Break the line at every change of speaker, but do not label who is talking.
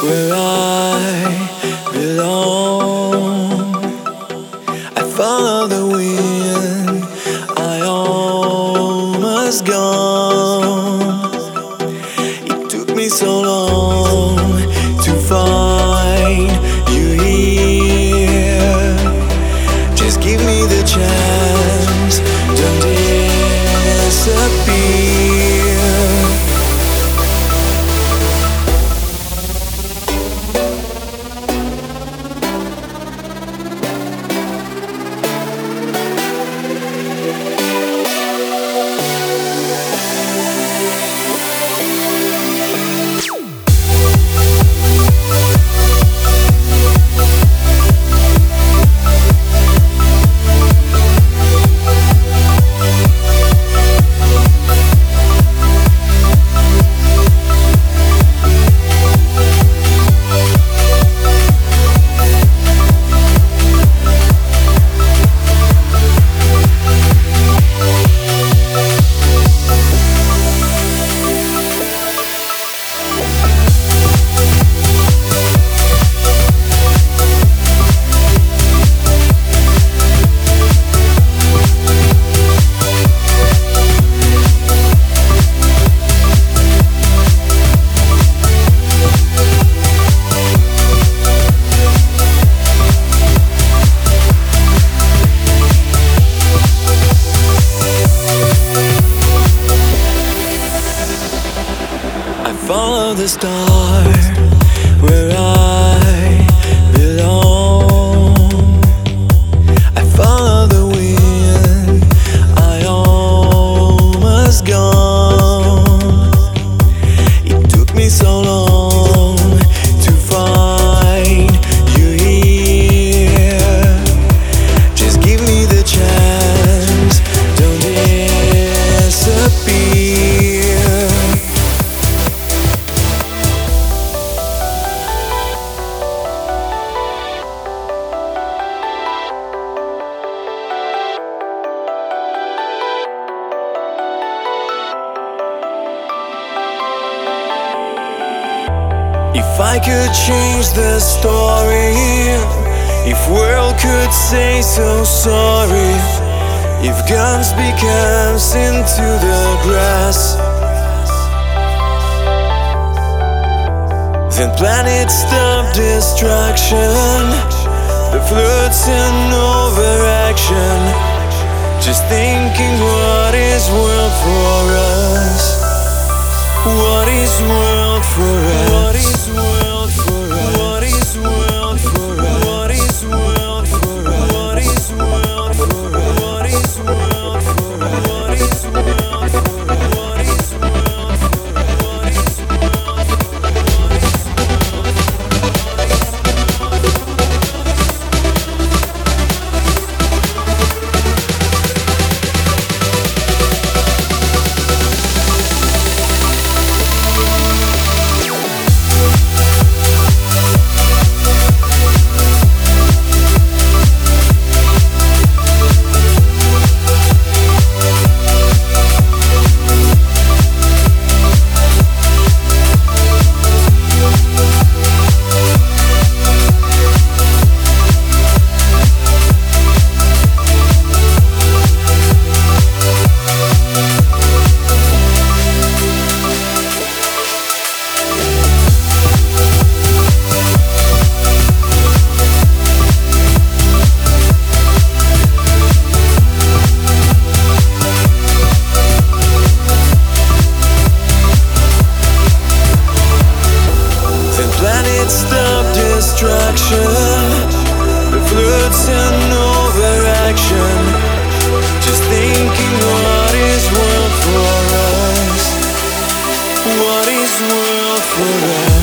where I belong. I follow the wind, I almost gone. It took me so long to find you here. Just give me the chance, don't disappear. Follow the star where I belong. I follow the wind, I almost gone. It took me so long to find you here. Just give me the chance, don't disappear. If I could change the story, if world could say so sorry, if guns became into the grass, then planets stop destruction, the floods and overaction. Just thinking, what is world for us? What is world for us? What is world for us? What is world for us? What is world for us? What is world for us? What is world for us? What is world for us? What is world for us? What is world for stop destruction, the floods and overaction. Just thinking, what is world for us? What is world for us?